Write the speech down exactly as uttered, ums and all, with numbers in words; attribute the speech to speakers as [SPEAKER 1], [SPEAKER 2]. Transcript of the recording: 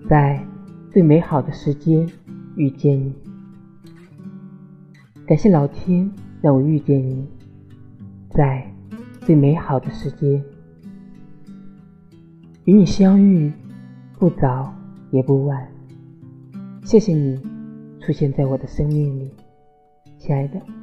[SPEAKER 1] 在最美好的时间遇见你。感谢老天让我遇见你，在最美好的时间。与你相遇，不早也不晚。谢谢你出现在我的生命里，亲爱的。